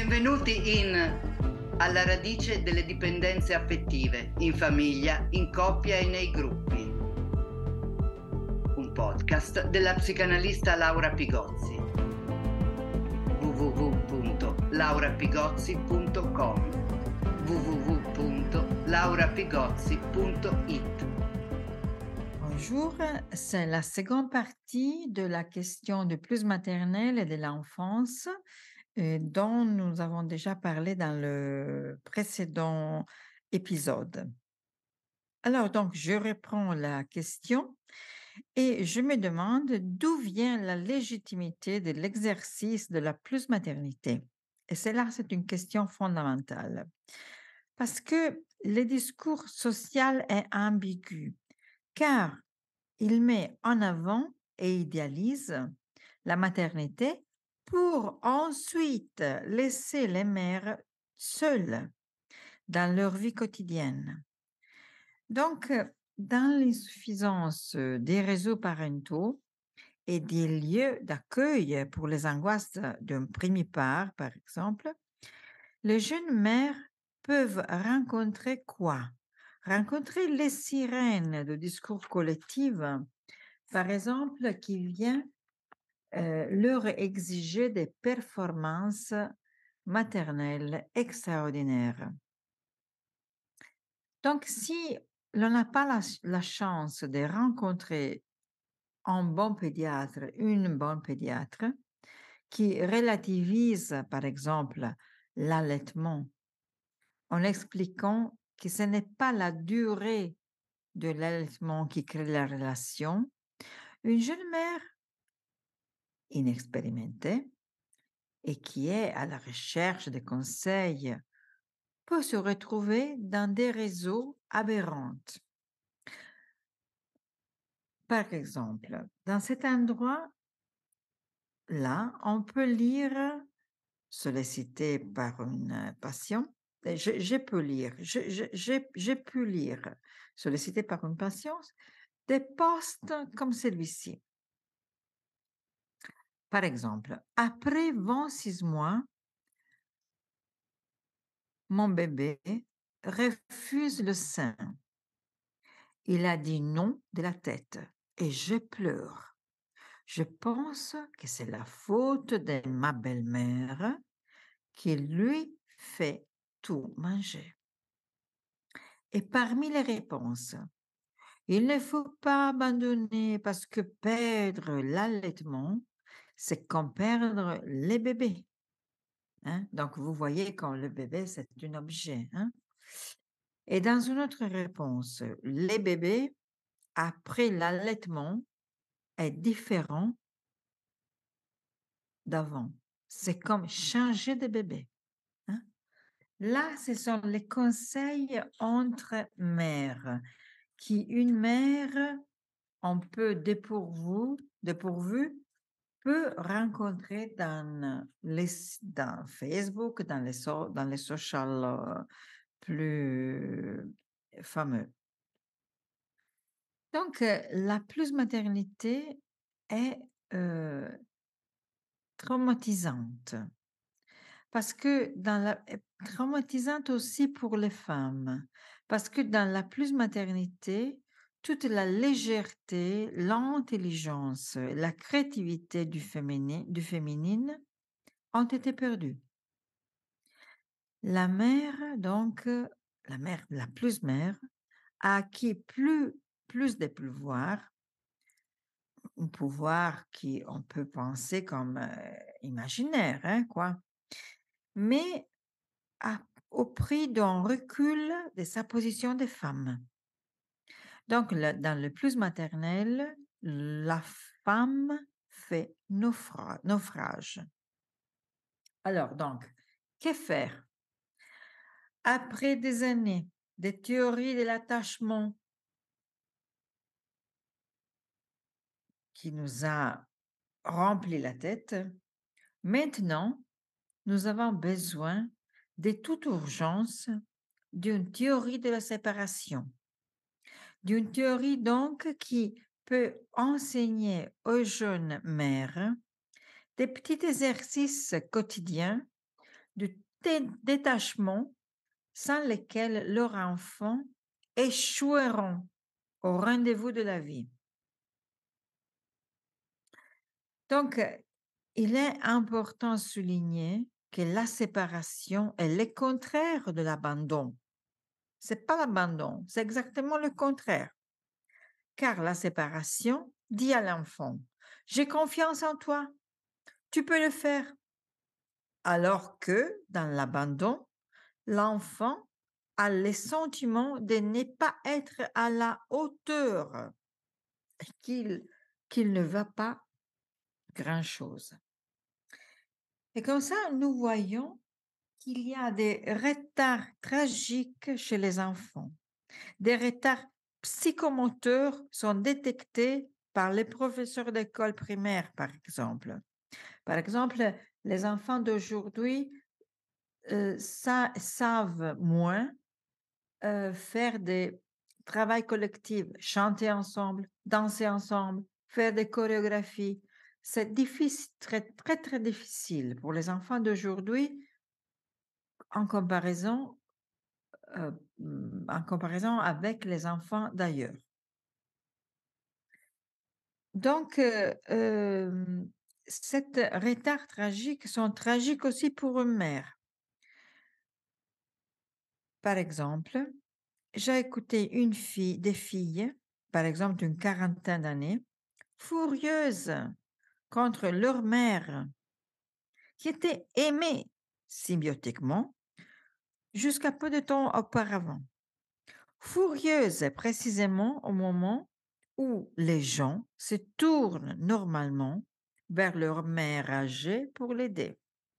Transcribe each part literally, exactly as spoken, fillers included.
Benvenuti in Alla radice delle dipendenze affettive, in famiglia, in coppia e nei gruppi. Un podcast della psicanalista Laura Pigozzi. w w w punto laura pigozzi punto com w w w punto laura pigozzi punto i t. Bonjour, c'est la seconde partie de la question du plus maternel et de l'enfance euh, dont nous avons déjà parlé dans le précédent épisode. Alors donc, je reprends la question et je me demande d'où vient la légitimité de l'exercice de la plus maternité. Et cela, c'est une question fondamentale parce que le discours social est ambigu, car il met en avant et idéalise la maternité pour ensuite laisser les mères seules dans leur vie quotidienne. Donc, dans l'insuffisance des réseaux parentaux et des lieux d'accueil pour les angoisses d'un premier part, par exemple, les jeunes mères peuvent rencontrer quoi? Rencontrer les sirènes de discours collectifs, par exemple, qui vient euh, leur exiger des performances maternelles extraordinaires. Donc, si l'on n'a pas la, la chance de rencontrer un bon pédiatre, une bonne pédiatre, qui relativise, par exemple, l'allaitement, en expliquant que ce n'est pas la durée de l'allaitement qui crée la relation, une jeune mère inexpérimentée et qui est à la recherche de conseils peut se retrouver dans des réseaux aberrants. Par exemple, dans cet endroit-là, on peut lire, sollicité par une patient, je, je peux lire, je, je, j'ai, j'ai pu lire, sollicité par une patiente, des posts comme celui-ci. Par exemple, après vingt-six mois, mon bébé refuse le sein. Il a dit non de la tête et je pleure. Je pense que c'est la faute de ma belle-mère qui lui fait tout manger. Et parmi les réponses, il ne faut pas abandonner parce que perdre l'allaitement, c'est comme perdre les bébés. Hein? Donc, vous voyez quand le bébé, c'est un objet. Hein? Et dans une autre réponse, les bébés, après l'allaitement, est différent d'avant. C'est comme changer de bébé. Hein? Là, ce sont les conseils entre mères, qui une mère, on peut dépourvu, dépourvu peut rencontrer dans, les, dans Facebook, dans les, so, dans les social euh, plus fameux. Donc, euh, la plus maternité est euh, traumatisante. Parce que dans la traumatisante aussi pour les femmes, parce que dans la plus maternité, toute la légèreté, l'intelligence, la créativité du féminin, du féminine ont été perdues. La mère, donc, la mère, la plus mère, a acquis plus, plus de pouvoir, un pouvoir qui on peut penser comme euh, imaginaire, hein, quoi, mais à- au prix d'un recul de sa position de femme. Donc, le- dans le plus maternel, la femme fait naufra- naufrage. Alors, donc, que faire? Après des années de théorie de l'attachement qui nous a rempli la tête, maintenant, nous avons besoin de toute urgence d'une théorie de la séparation. D'une théorie donc qui peut enseigner aux jeunes mères des petits exercices quotidiens de dé- détachement sans lesquels leurs enfants échoueront au rendez-vous de la vie. Donc, euh, il est important de souligner que la séparation est le contraire de l'abandon. C'est pas l'abandon, c'est exactement le contraire. Car la séparation dit à l'enfant, j'ai confiance en toi, tu peux le faire. Alors que dans l'abandon, l'enfant a le sentiment de ne pas être à la hauteur, qu'il qu'il ne va pas grand-chose. Et comme ça, nous voyons qu'il y a des retards tragiques chez les enfants. Des retards psychomoteurs sont détectés par les professeurs d'école primaire, par exemple. Par exemple, les enfants d'aujourd'hui euh, sa- savent moins euh, faire des travaux collectifs, chanter ensemble, danser ensemble, faire des chorégraphies. C'est difficile, très, très, très difficile pour les enfants d'aujourd'hui en comparaison, euh, mm, en comparaison avec les enfants d'ailleurs. Donc, euh, euh, cette retard tragique sont tragiques aussi pour une mère. Par exemple, j'ai écouté une fille, des filles, par exemple d'une quarantaine d'années, furieuses contre leur mère, qui était aimée symbiotiquement jusqu'à peu de temps auparavant. Furieuses précisément au moment où les gens se tournent normalement vers leur mère âgée pour l'aider.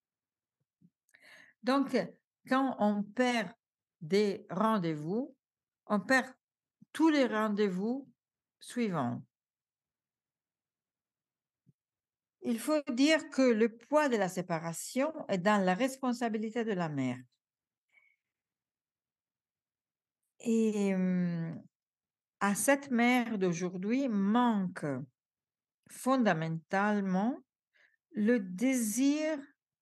Donc, quand on perd des rendez-vous, on perd tous les rendez-vous suivants. Il faut dire que le poids de la séparation est dans la responsabilité de la mère. Et hum, à cette mère d'aujourd'hui manque fondamentalement le désir,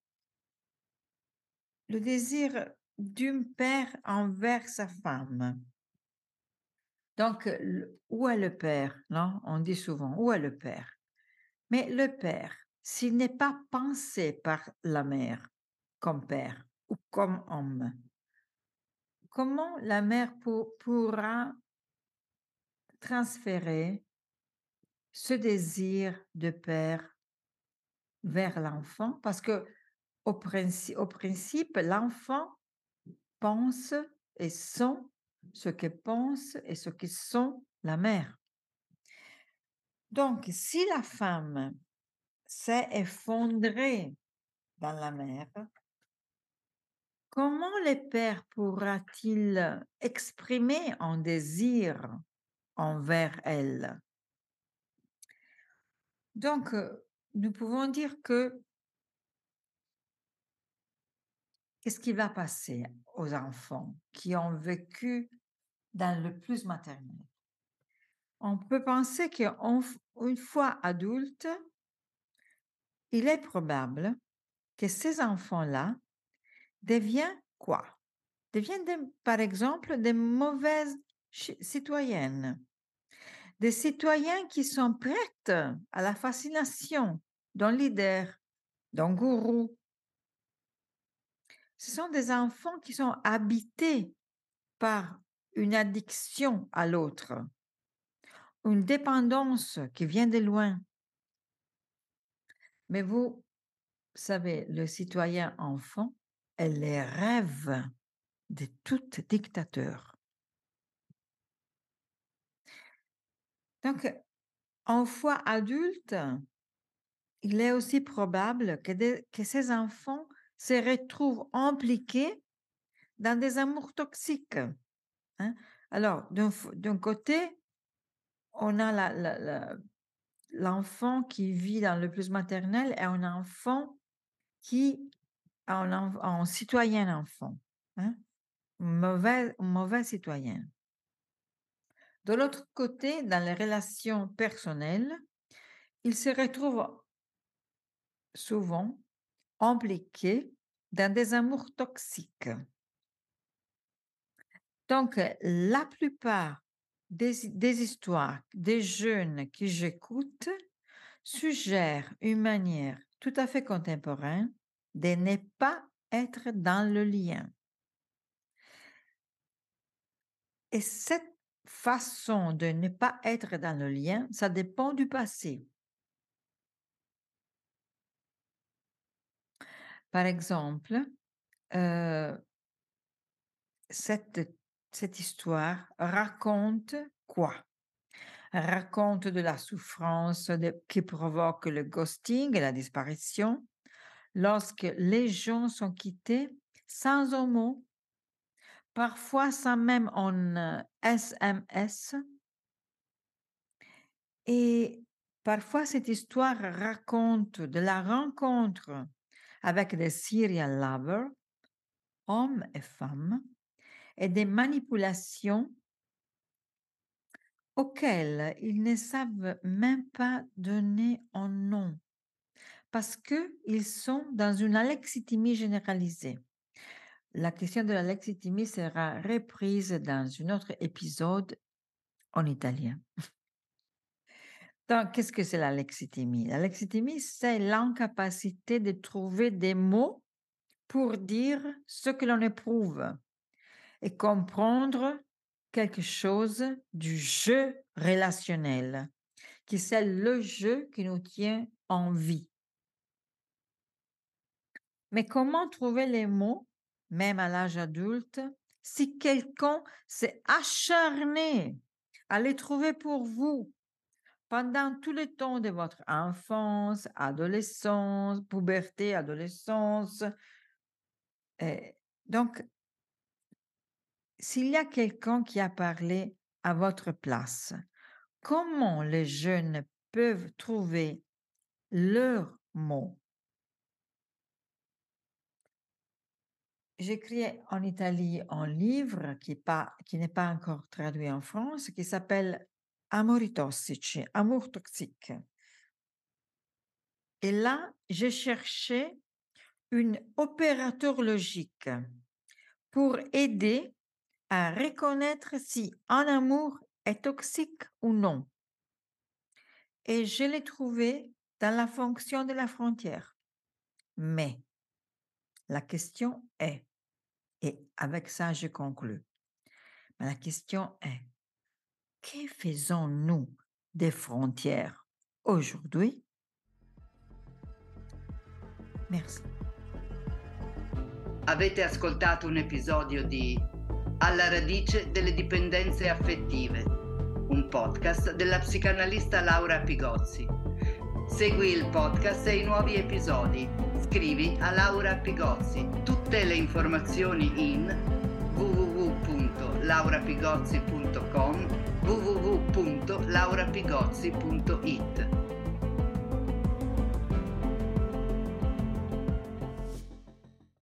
le désir d'un père envers sa femme. Donc, le- où est le père? Non, on dit souvent, où est le père? Mais le père, s'il n'est pas pensé par la mère comme père ou comme homme, comment la mère pour- pourra transférer ce désir de père vers l'enfant? Parce que au principe, au principe, l'enfant pense et sent ce que pense et ce que sent la mère. Donc, si la femme s'est effondrée dans la mère, comment le père pourra-t-il exprimer un désir envers elle? Donc, euh, nous pouvons dire que qu'est-ce qui va passer aux enfants qui ont vécu dans le plus maternel? On peut penser qu'une fois adultes, il est probable que ces enfants-là deviennent quoi? Deviennent, des- par exemple, des mauvaises chi- citoyennes, des citoyens qui sont prêts à la fascination d'un leader, d'un gourou. Ce sont des enfants qui sont habités par une addiction à l'autre, une dépendance qui vient de loin. Mais vous savez, le citoyen enfant est les rêves de tout dictateur. Donc, en fois adulte, il est aussi probable que, des- que ces enfants se retrouvent impliqués dans des amours toxiques. Hein. Alors, d'un f- d'un côté, on a la- la- la- l'enfant qui vit dans le plus maternel et un enfant qui a un, enf- un citoyen enfant, hein, un mauvais, un mauvais citoyen. De l'autre côté, dans les relations personnelles, il se retrouve souvent impliqué dans des amours toxiques. Donc, la plupart des, des histoires des jeunes que j'écoute suggèrent une manière tout à fait contemporaine de ne pas être dans le lien. Et cette façon de ne pas être dans le lien, ça dépend du passé. Par exemple, euh, cette, cette histoire raconte quoi? Raconte de la souffrance de- qui provoque le ghosting et la disparition lorsque les gens sont quittés sans un mot, parfois sans même un euh, S M S. Et parfois, cette histoire raconte de la rencontre avec des serial lovers, hommes et femmes, et des manipulations auxquelles ils ne savent même pas donner un nom parce qu'ils sont dans une alexithymie généralisée. La question de l'alexithymie sera reprise dans un autre épisode en italien. Donc, qu'est-ce que c'est l'alexithymie? L'alexithymie, c'est l'incapacité de trouver des mots pour dire ce que l'on éprouve et comprendre quelque chose du jeu relationnel, qui c'est le jeu qui nous tient en vie. Mais comment trouver les mots, même à l'âge adulte, si quelqu'un s'est acharné à les trouver pour vous pendant tout le temps de votre enfance, adolescence, puberté, adolescence? Et donc, s'il y a quelqu'un qui a parlé à votre place, comment les jeunes peuvent trouver leurs mots? J'écris en Italie un livre qui, pas, qui n'est pas encore traduit en France, qui s'appelle Amori tossici, amour toxique. Et là, j'ai cherché un opérateur logique pour aider à reconnaître si un amour est toxique ou non. Et je l'ai trouvé dans la fonction de la frontière. Mais la question est, et avec ça je conclus, mais la question est, que faisons-nous des frontières aujourd'hui? Merci. Avete ascoltato un episodio di Alla radice delle dipendenze affettive, un podcast della psicanalista Laura Pigozzi. Segui il podcast e i nuovi episodi. Scrivi a Laura Pigozzi. Tutte le informazioni in w w w punto laura pigozzi punto com, w w w punto laura pigozzi punto it.